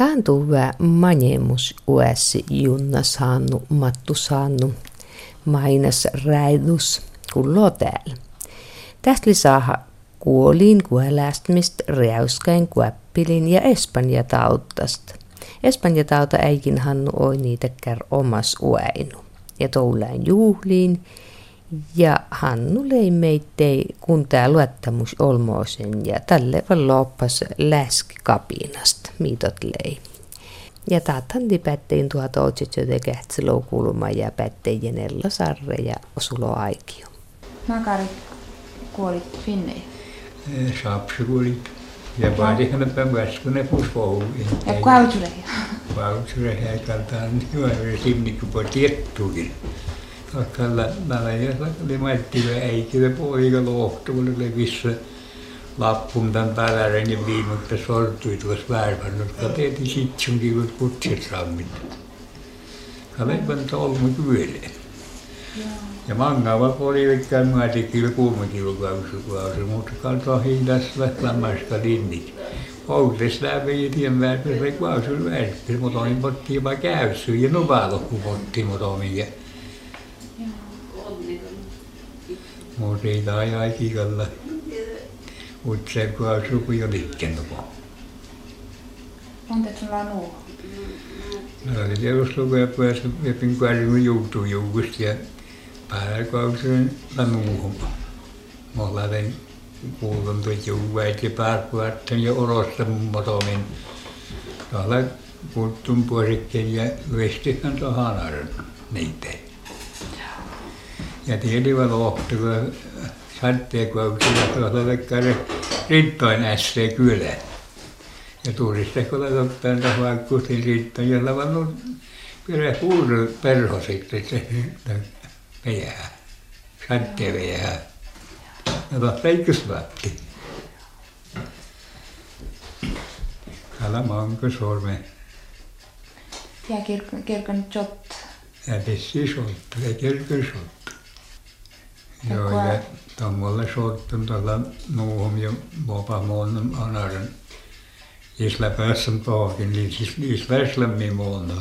Tämän tuve manemus uesi junna saannu, mattu saannu, mainas räidus kullo täällä. Tästä lisää kuoliin kuolästmistä, räyskäin kuäppilin ja espanjatautasta. Espanjatauta äikin hannu oi niitä kär omas uäinu. Ja toulain juhliin. Ja hannu lei meittei kun tää luottamus olmoosen ja tälle vaan loppas läskikapinasta, miitot lei. Ja taatan pättein tuota otsit joten kähtsilou kulma ja pättein Ella Sarre ja Osulo Aikio. Makari kuolit Finnei? Saapsi kuolit. Ja vaadihan päiväskunne pusvouluihin. Ja kautureja? Kautureja kaltaan hyvä simnikku po tiettuukin. Tällä oli maittivä äikivä poika lohtuulla levissä lappun tämän pälären ja viimuttä sortui tuossa värvän. Kateeti sitsunkin kuin kutsit sammit. Kalepan tolmu kyöleen. Ja mangava oli vekkään maatikilla kuumakilukausi, mutta kaltoa hindassa lämmästä linnit. Outes läpi ja tien värpässä ei kausul värpässä, mutta olin pottiin vaan käyssyt ja nuvalokku pottiin, mutta omiin. Mutta siitä ajaa kikalla. Utseen kausul kun jo liikkennuko. Monta sulla nuo? Mä olin tieduslukuja päässä vepin kuärin juutuu juukusta ja päällä kausin lanuuhun. Mä olen kuulun tuot juuväit ja pääkuvatten ja orosta motomin. Tuolla kuttun puolikkeen ja lyestihän tuon hanaran niitä. Ja tiedivä lohtu, kun satteekauksilla tuolla vekkari rintoin ässee kylään. Ja turiste kun olet ottanut tuohon vaikkuutin rintoin ja lavannut kyllä puudun perho sitten se veijää, satteen veijää. Ja tuossa leikkusvaatti. Kala manko sorme. Ja kirkon jott. Ja tessi solttu, ja kirkon solttu. Joo, ja tommolle solttun tuolla nuuhum ja mopamoon anaran. Isla päässä paakin, niin siis väslämmin moona.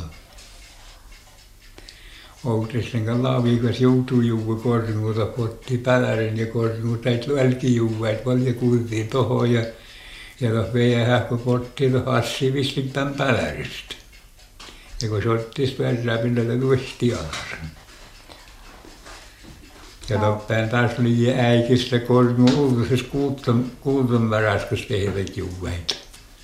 Outresten laavikas joutuu juua kornuuta potti pälärin ja kornuuta täit välki juuvaat paljon kuultiin tohon ja tuossa veijähän kun potti tuohon assi vissin tämän päläristä. Ja kun se ottis värräpinnalle luisti alasen. Ja toppään taas oli äikistä kornu ulkoisessa kuuton varaskassa tehdät juuvaita.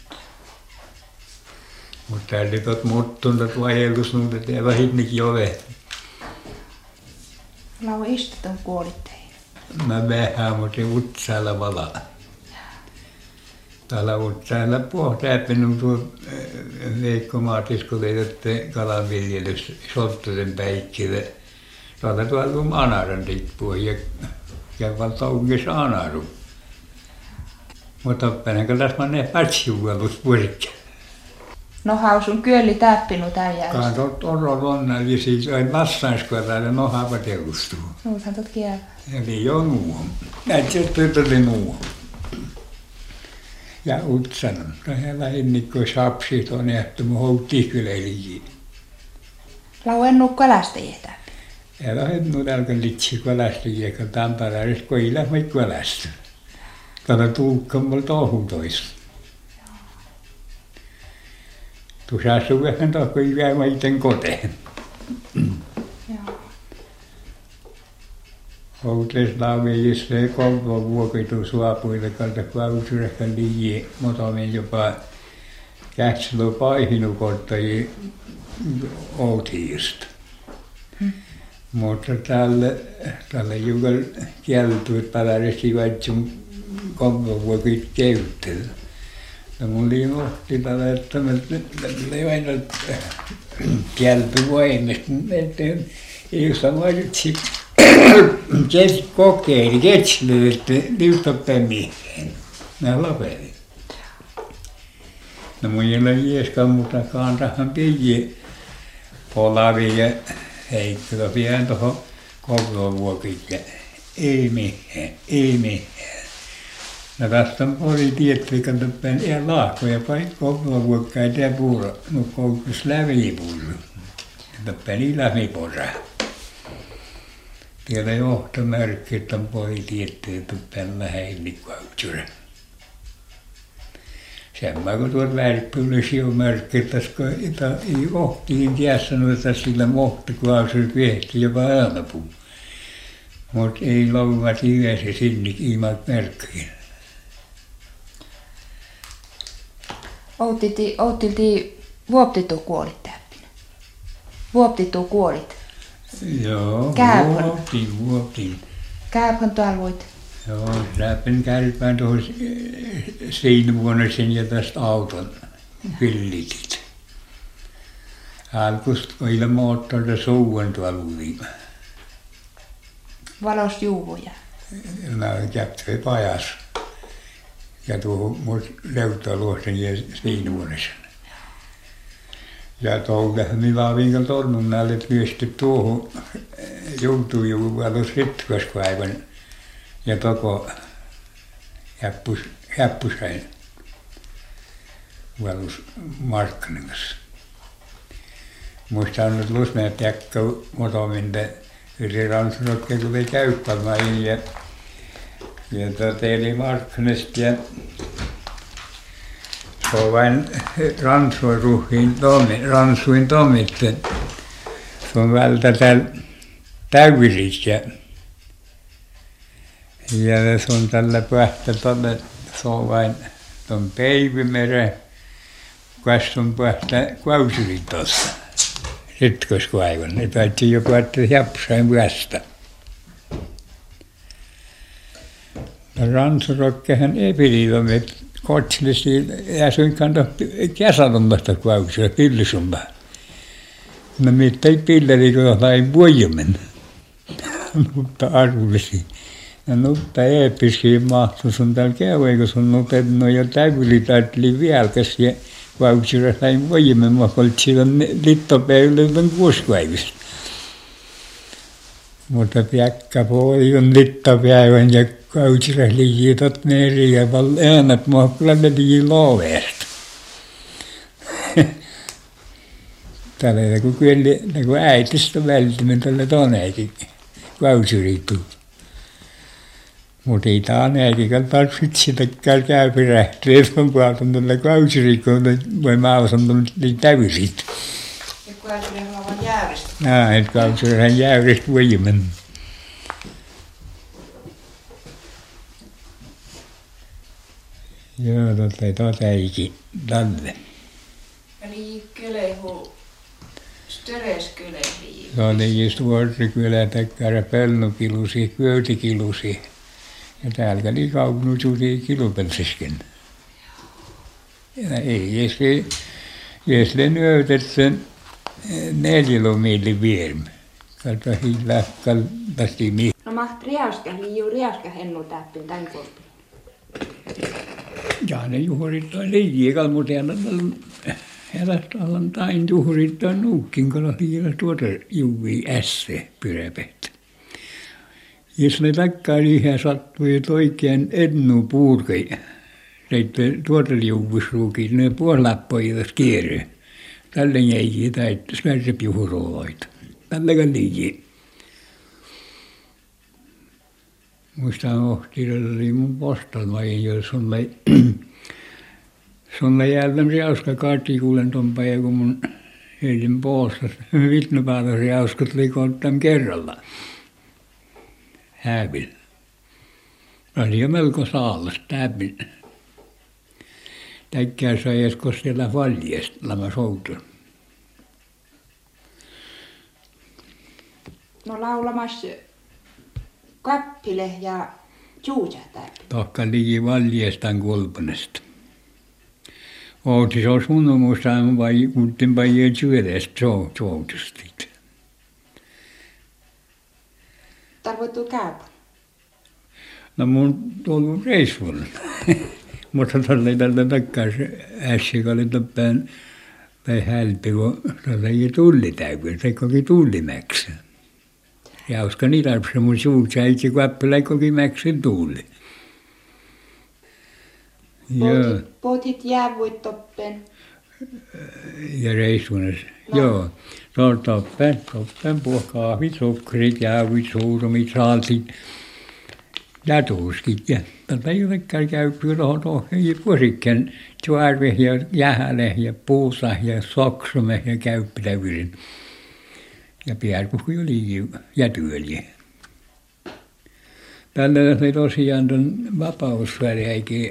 Mutta täällä oli tuot muttuntat vajellusnuudet ja vähitnekin ove. Lau istutun kuolitteihin? Mä vähän, mutta utsaalla vala. Täällä utsaalla pohtäppinut tuo Veikko Maatis, kun teidätte kalanviljelys Solttosen päikkille. Täällä tuolla anaran tippua ja valtaungis anaru. Mutta päinäkö tässä mä ne patsiuvelus puolikkeen. No hausun kyölli täppinut äijäys. Katot orolonna, ja siis aina vastaanskoitainen nohava teustuu. Nuuthan tot kielä. Eli jo nuuhon. Näitä tytölle nuuhon. Ja utsanon. Tähän lähinnikko sapsi tuonne, että mun houttiin kyllä elikin. Lau en nuukko älästäjiä täppi. Ja lähennu tälkä litsi kolästäjiä, kun Tampereessa koilla mä kolästä. Tällä tulkka mulla tohun toista. Tuossa asuu vähän tohkoi jäämä iten koteen. Houtes lauveijissa se kolmo vuokitu suapuille kalta klausurehkan liian, motomin jopa kätsilö paihinu korttajia outiista. Mutta tälle juuri kieltuit pälärästi vaitsun kolmo vuokit käyttely. Ja mun liimohti tällä, että mä aina kielty voimista, että ei samaiset kokeili, ketsilöi, että liuttapäin mihin. Mä lopelin. No mun ei ole jieskaan, mutta kantahan piji polavi ja heikkilö pian tuohon kolmovuokille. Ei mitään, ei mitään. No tästä oli tietvikan töppään ja lahkoja paikkoa vuokkaa ja puura. No koukkus lävipuuru. Töppään ilämiporra. Tiedä johtomerkki, että on poi tiettyä töppään läheillikautsura. Semmoinen kun tuot värppyllisiä on merkki, että ei ohtiin tiessä noita sillä mohtokuvaukset viehti jopa äämäpuu. Mutta ei louvat yhdessä sinne ilman merkkiä. Outilti vuoptitu kuolit täppinä. Vuoptitu kuolit. Joo, vuoptin. Käypän tuolla voit. Joo, läpin kärpään tuohon siinä vuonna sen ja tästä auton villitit. Alkuista kun ilman moottorilla suuen tuolla uviin. Valos juuvuja. Mä käptyin pajas. Ja tuohon mun leuhtoluosten ja siinä vuodessa. Ja tuolla minä vinkan tornun näille, että myösty tuohon joutui jo valos ritkoskaivan. Ja toko häppusäin valus markkanin kanssa. Muista on nyt lusmeen piakka motominta yli ransurokkeet tuli käyttämään ja teili markkanista ja se on vain ransuin tomitten. Se on vältä täyvisit ja se on tällä pähtä tuonne, se on vain tuon Peivimeren, kas on pähtä Kausirin tuossa, ritkoskaivan. Ne päätti jo päättää Jäpsäin päästä. Ransurokkehan ei pidä, että kotsillisesti ja suinkaan kesälommasta Kausilla, pillisummaa. No mitä ei pilleri, kun sain voimen, mutta arvullisia. Ja nutta eeppiskiin mahtuu sun täällä käy, kun sun nutenut jo täyvylitaitli vieläkäs ja Kausilla sain voimen, mä oltiin siellä littopäivillä kuusipäivistä. Mutta piakka puoli on littopäivän ja Kausilla liitot meri ja äänät mua kyllä ne lii loveesta. Tällä kun äitistä välttämään tällä toneekin Kausiriin. Mutta ei tämä äitikällä tarvitse sitäkään käypirähtyä, että on puhutaan tällä Kausiriin, kun voi maailman täysit. Ja Kausiriin on vain jäyristä. Että Kausiriin jäyristä voimen. Joo, totta eikin tälle. Eli kylehu, störeskylehi. Se oli just vuorikylä, takkara pelnukilusi, kyötikilusi. Ja täällä oli kaunusuusia kilupelsisken. Ja ei, jos ne nyötet sen 4 lomiili vierm. Kalta hiilähkal tästi mi. No maht riauska hennu täppin tän korpin. Ja ne juhurit on liikaa, mutta elästä allan tain juhurit on nuukin, kun on tuota juvii ässe pyräpehtä. Jos ne takkaan ihan sattui, että oikein ennu puurkei, sitten tuota juvusruukin, ne puolappoivat kierre. Tälle jäi täitä svärsepiuhuroita. Tälläkään liikaa. Muistan ohtiilla oli mun postalmain, jos sulle jälleen riauska kaatikuulen ton päivän, kun mun heidin poostas. Vitnopäällä riauskat likoon tämän kerralla. Hävillä. Oli jo melko saallas täpin. Täkkää sai edes koskella valjesta, lama soutun. No laulamassa kappile ja juuja täppin. Tohka liki valjestaan kulpunesta. Outi se olisi mun muistaan vai kuutin päijää syödestä soutustit. Tarvoittuu käypä. No mun tuolla reissulla. Mutta tuolla ei tältä takkaan se äsken oli toppään tai hälpi, kun tuolla ei tulli täytyy, se koki tullimäksi. Ja uskon niitä, se mun suut säitsi, kun äppälä koki mäksi tulli. Joo. Pohdit jäävuit toppen. Ja reissunes. Joo. Toppen kahvit, sokkerit, jäävuit, suurumit, saaltit ja tuuskit. Ja tätä jotenkin käypyy tuohon vuosikkeen tuarve ja jähäle ja puusa ja soksume ja käyppitävyrin. Ja piärkuhku jo liikin ja työliä. Tällä oli tosiaan tuon vapausväliäikin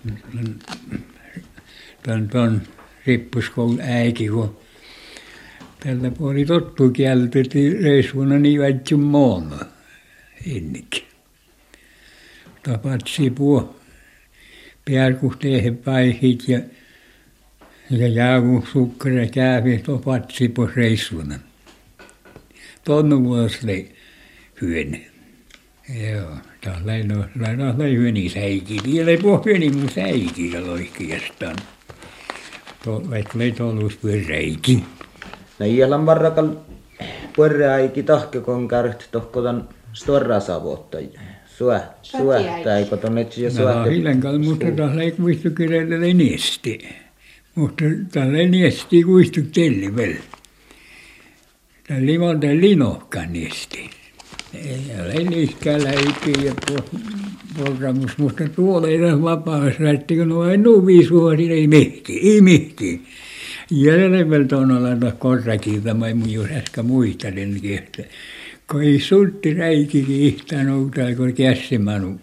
tuon rippuskoulun äikin, kun tällä puoli tottu kieltettiin reissuuna niin väitsyn moona ennenkin. Tapatsi puo piärkuhteihin päihit ja jäävuusukkara kävi tapatsi puo reissuuna. Tuonne vuosille hyöny. Joo, tällä ei hyöni säikin. Vielä ei puhu hyöni mun säikin loikkiastaan. Vaikka ei tuollus pyöreikin. No iälan varrakal pyöreäiki tahkekon kärht tohkotan storra savotta. Suähtäikö tuonne etsi ja suähtä? No hilenkal, mutta tällä ei kuistu kirjailla niesti. Mutta tällä ei niesti kuistu telli vielä. Tällä ei monta linohkaan niesti. Ei niiskään läikin ja porramus, mutta tuolla ei ole vapausrätti, kun on nuvi suosin, ei mihti. Jäljellä on olla korrakilta, mä en jos äsken muistelenkin, että kun ei sultti räikikin ihtään outaa, kun kässimanu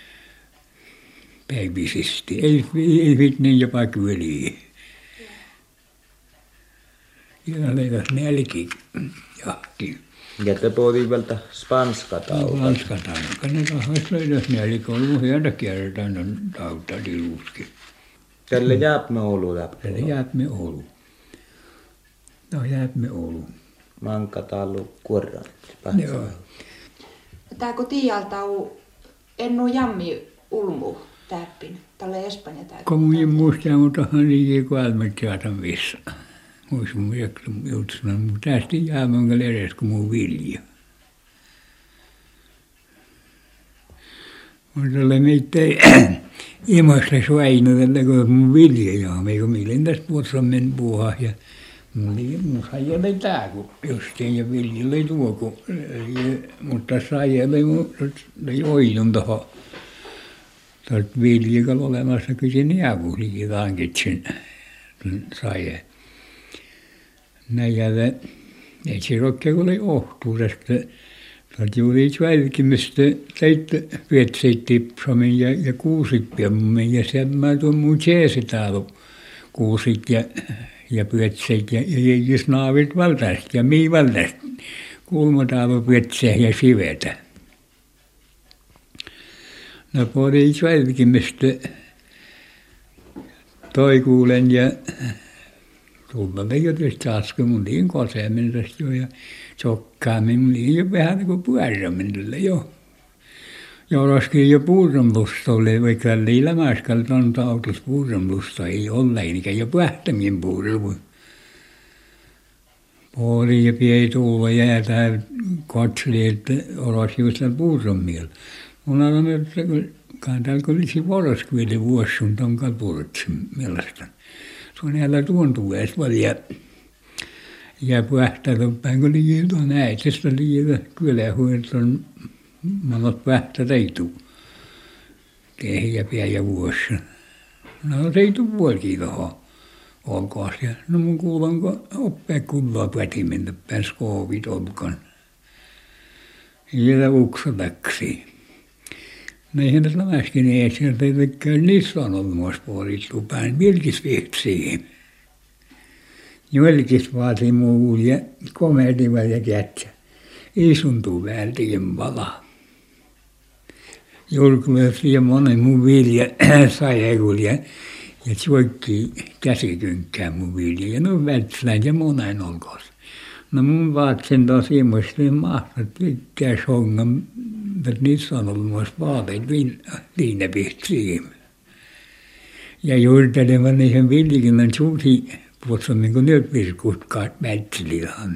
päivisesti. Ei vitnin jopa kyliin. Jäljellä nälki jahti. Ja te puhutiin vältä spanskatauta. Spanskatauta. Ne tahois löydäs nälki, on ollut hieno kertaan tauta tiluskin. Tälle jääpme Oulu läpi. Tälle jääpme Oulu. No jääpme Oulu. Mankatallu kuorran. Joo. Tää kun tiialta on ennu jammi ulmu täppin. Tälle Espanja täytyy. Kun minä muistan, mutta hän liikin kuolmat jaatan vissa. Muistan mun jutsuna, mutta tästä jäämän edes kuin mun vilja. Mutta tälle meitä ei imasta suainu, kun mun vilja jäämme, kun milloin tässä puhutaan men puhua. Ja mun saijalla ei tää, kun justiin ja viljalla ei tuo, mutta saijalla ei oidun tuohon. Tuolta viljalla olemassa kysyn jäävuulikin tankitsin saijalla. Näin jäädä, ei se rokkea kun oli ohtuudesta. Tuolta juuri välkimistä teitte pietseit tipsamin ja kuusit piemmin ja sen mä tuon mun jeesitaalu kuusit ja pietseit ja jäijys naavit valtaista ja mii valtaista. Kulmataalu pietsejä ja sivetä. No puoli välkimistä toi kuulen ja tulla ei ole tietysti askel, mun liin kosemin tästä jo ja sokkaamin, mun liin jo vähän niin kuin pyörämin jo. Ja olisikin jo puuronlusta oli, vaikka liillä mäskalta on tautus puuronlusta, ei ole, eikä jo pähtämien puuronlusta. Puoli ja piei tulla jäätään katseli, että olisi just siellä puuronmieltä. Mun aina että täällä kun olisi voroskvili vuosi sun ton kalpurtsin mielestäni. Se on jäällä tuontuu edes paljon ja pähtätä päin, kun liian tuon äitsestä liian kyllä huolet on monot pähtä teitu. Tehiä pää ja vuosi. No teitu vuolikin tuohon olkoon. No mun kuulan, kun oppia kullaa pätimentä päin skoovit olkoon. Ja uksotaksi. No eihän tässä läskin ei sieltä tekään niissä on ollut myös puolittu päin vilkisvihtsiin. Jolkis vaatii muu ja komediva ja kätsä. Isuntuu vältiin pala. Julkuleesi ja monen mun vilja sajekul ja tjoikki käsikynkkää mun vilja. Ja no vätslään ja monen olkoon. No mun vaatsin taas ilmoisesti mahtat pitkää songan. Mutta niissä on ollut myös vaaleet liinapihtsiin. Ja juurtelevan niihin viljikin on suusi puhutaan niin kuin nyt virkkuutkaat mätsilihan.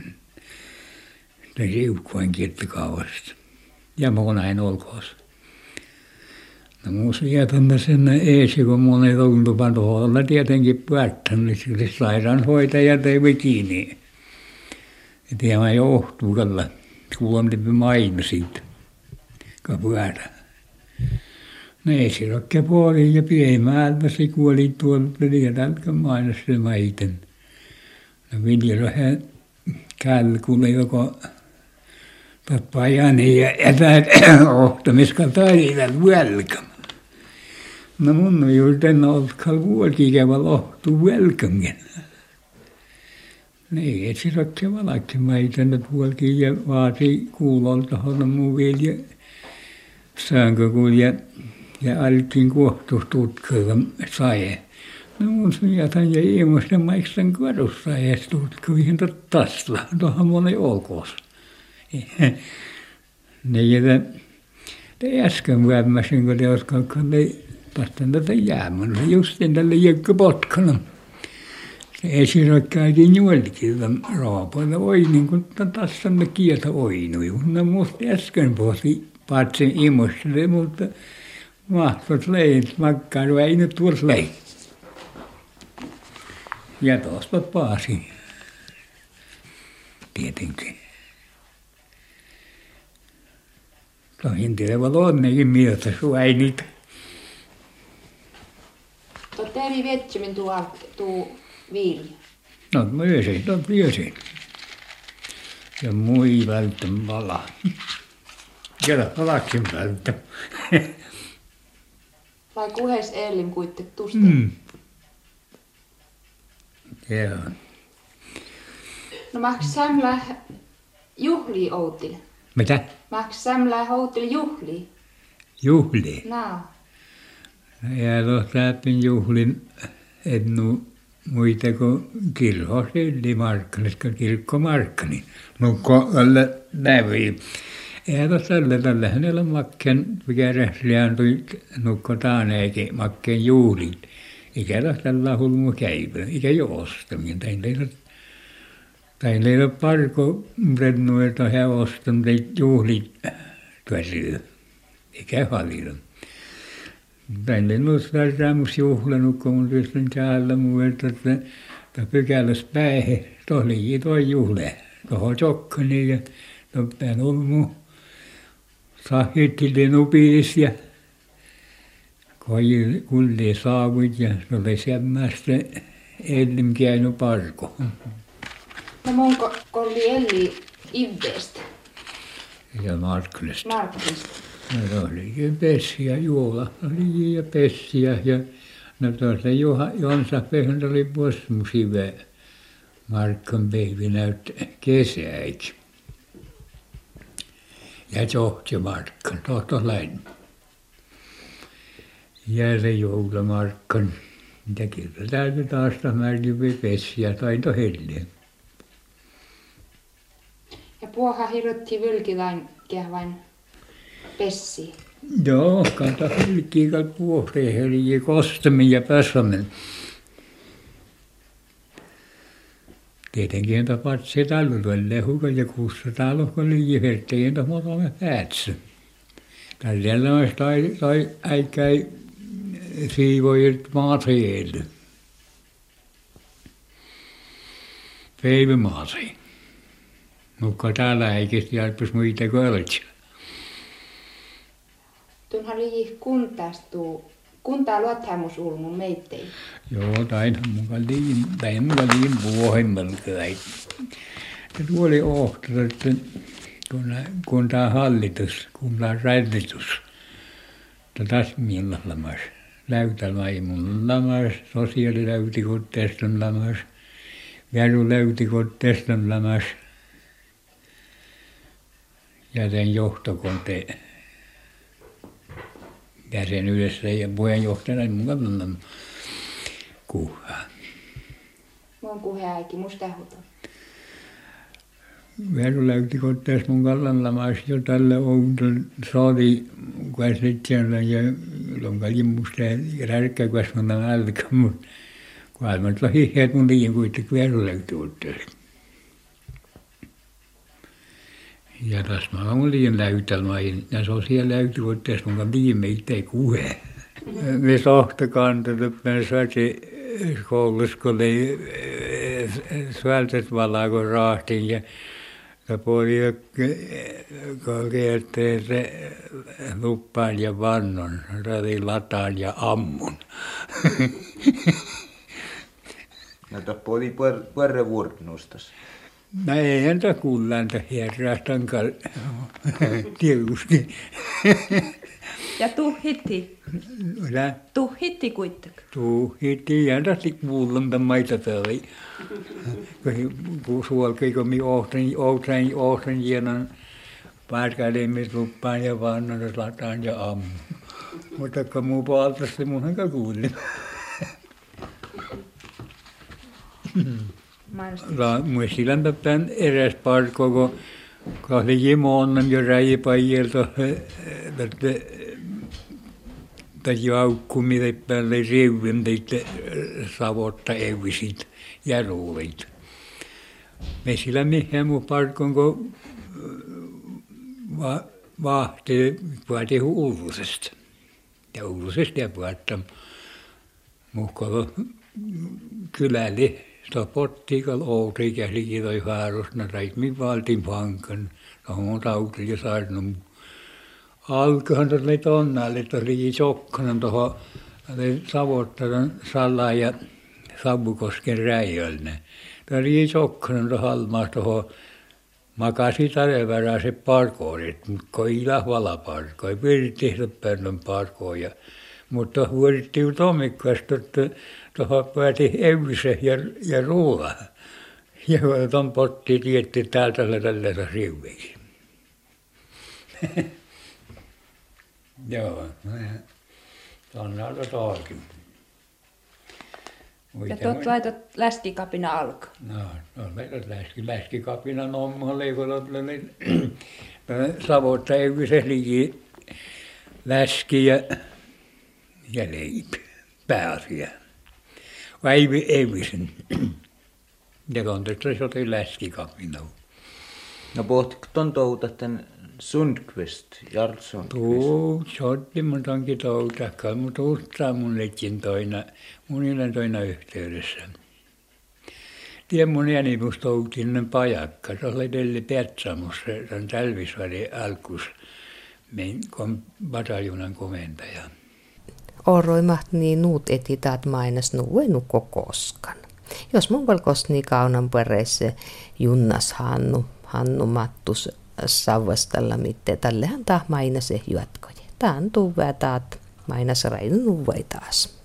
Tai siukkuan kirttikauasta. Ja monain olkoos. No mun sieltä sinne eesi, kun mun ei tuntupa tuolla tietenkin päättänyt, niin sairaanhoitajat ei vikiin. Ja tämä johtuu kalla, kuulontipi maino siitä, kun pyörä. Ne ei sirokke puoliin ja piemäältä se kuoli tuolta lietältä mainostaa maiten. No viljelöhän kälkulle joko tappajani ja etäät ohtomiskalta taidilla velkam. No mun on juuri en oltkal vuolkikävä lohtuu velkamgen. Ne ei sirokke valakke maiten, että vuolki ja vaati kuulolta holla muu vielä säänkö kulje. Ja alkin kohtuustutkaa sae. No mun jätän ja ilmoista maiksen kadussa ja tutkuihin tasla. Tuohan mun ei olkoos. Ne jätä, te äsken vämmäsin, kun te oskakaan tästä tätä jäämään. Se justiin tälle jäkkä potkana. Se esirokkäikin juolikin raapoilla. Oi niin kuin tässä ne kieltä oinui. No musta äsken pohti paatsin imostele, mutta mahtot leijät makkailu ei nyt tuossa leijät. Ja tuosta paasi. Tietenkin. Tohin tilevalla onnekin mieltä suäinit. Tuo eri vetsämin tuo vilja. No myösin. Ja mui vältän pala. Ja palaksin vältän. Vai kuhes Ellim kuitte tusta? Joo. No maks sämlä juhlii outil? Mitä? Maks sämlä outil juhlii? Juhli? No. Ja tuossa läpin juhlin ennu muita kuin kirhossa ylimarkkanissa, kirkkomarkkani. Nukko alle nävi. Ja tuossa tällä hänellä makkeen, mikä rähliääntui nukko taaneekin makkeen juhlin. Ikä tällä hulmu käypä, ikä joostaminen. Teillä ei ole parko rennuilta hevosta, mutta juhlit tuosyö. Ikä paljon. Teillä ei ole tämmöistä juhlanut, kun mun tietysti täällä muuta, että pykälässä päihe, tohlikin tuo juhle. Tuohon jokkani ja tuoppään ulmu. Sahittilin upiis ja kulli saavut ja se oli semmoista Ellim käynyt parko. No munko kolli Elli Ivdeestä? Ja Markklista. Markklista. No olikin pessiä, juola oli ja pessiä ja no tuossa Jonsa pehmä oli posmusive Markkan pehvi näytti kesäiksi. Ja johti Markkan, tohto läin. Ja se joulamarkkan. Ja kyllä täytyy taas märkivi pessiä taito helliä. Ja puoha hirrotti vylkilain kehvain pessi. Joo, kanta hylkiikal puohteen helliä kostamin ja pässamin. Tietenkin tapat se talluille lehukan ja 600 lohkon liiverteen tamotamme päätsä. Tällä olisi tai äikäi siivoilt materiaali. Päivämaatri. Mutta täällä eikästi alpus muita költsiä. Tuonhan liihi kuntaa luottamusulmun meittei. Joo, tainhan mukaan liin vuohimmalkai. Se tuoli ohto, että kun tämä hallitus, kun tämä rädditus, tässä millä lamas, läytälaimun lamas, sosiaaliläytikotteeston lamas, vääryläytikotteeston lamas, ja sen johtokonte jäsenyydessä ja puheenjohtajana mukaan kuhaa. Mun kuheäiki, musta huuto. Vääryläytikotteessa mun kallan lamas jo tälle oudon saadi käsittelyllä ja lonkalin musta rärkkää kasvannan alkaa, mutta kun aivan tuolla hiheet mun liian kuitenkin vääryläytikotteessa. Ja tässä mä olin läytelmäin, ja se on siellä läytyvuotteessa mun viimeitteen kuhe. Me sohtakantat, että me saatiin koulussa, kun oli suoltet valaa, kun rahtiin, ja puoli korkeatteen se luppaan ja vannon, radin lataan ja ammun. No tappo oli puerre vuornustas. No ei entä kuullanta herrastankaan tietysti. Ja tuhhitti. Mitä? Tuhhitti kuitenkin. Tuhhitti entästi kuullanta maita täällä. Kun suolkei kun mi ohtan hienon parkailemis luppaan ja vannon lataan ja ammun. Mutta kun muu puoltas se munhan kuulin. Muistilan tämän eräs parko, kun kahli jimoonnan jo räjipäijältä, että jaukkumille päälle riuvin teitä savotta evisit ja ruuvit. Me sillä mihin mun parkon, kun vahti puhutiin Ullusesta. Ja Ullusesta ja puhutaan muhkalla kylälle. Sitä pottiikal outi ja likitoi haarusna raitmin valtin pankan. Tuohon tauti ja saarnut. Alkohan tuossa oli tonnalle, että oli Sokkonen tuohon Savottaran Sallan ja Savukosken räjölle. Tuo oli Sokkonen tuohon Halmaassa tuohon makasi tarevärää se parkoorit, mutta kun ei lahvala parkoo. Ei pyrit tehdä päivän parkooja. Mutta vuorittiin Tommikkaasta, että tuohon pääti Evise ja Ruola. Ja tuon pottiin tietty täältä tällä riuveiksi. Joo, tuonne on toikin. Ja tuot laitot läskikapina alko. No läskikapina nommalle, kun Savotta Evise liki läski ja leipä pääasia. Vai Evisen. Ja kontekstissa se oli läskikapina. No pohtiko ton touta tämän Sundqvist, Jarl Sundqvist? Se otti mun tonkin toutakkaan, mutta uuttaa mun lekin toina yhteydessä. Tien mun jänimus toutinen pajakka, se oli Delli Petsamus, se on Talvisvarin alkus, bataljonan komentaja. Oroimat niin nuut etitaat mainas nuuenukko koskan. Jos mun valkos niin kaunan perässä Junnas Hannu Mattus Savastalla mitte, tällehän taas mainas juotkoja. Tää on tuvää taat mainas raidun uvai taas.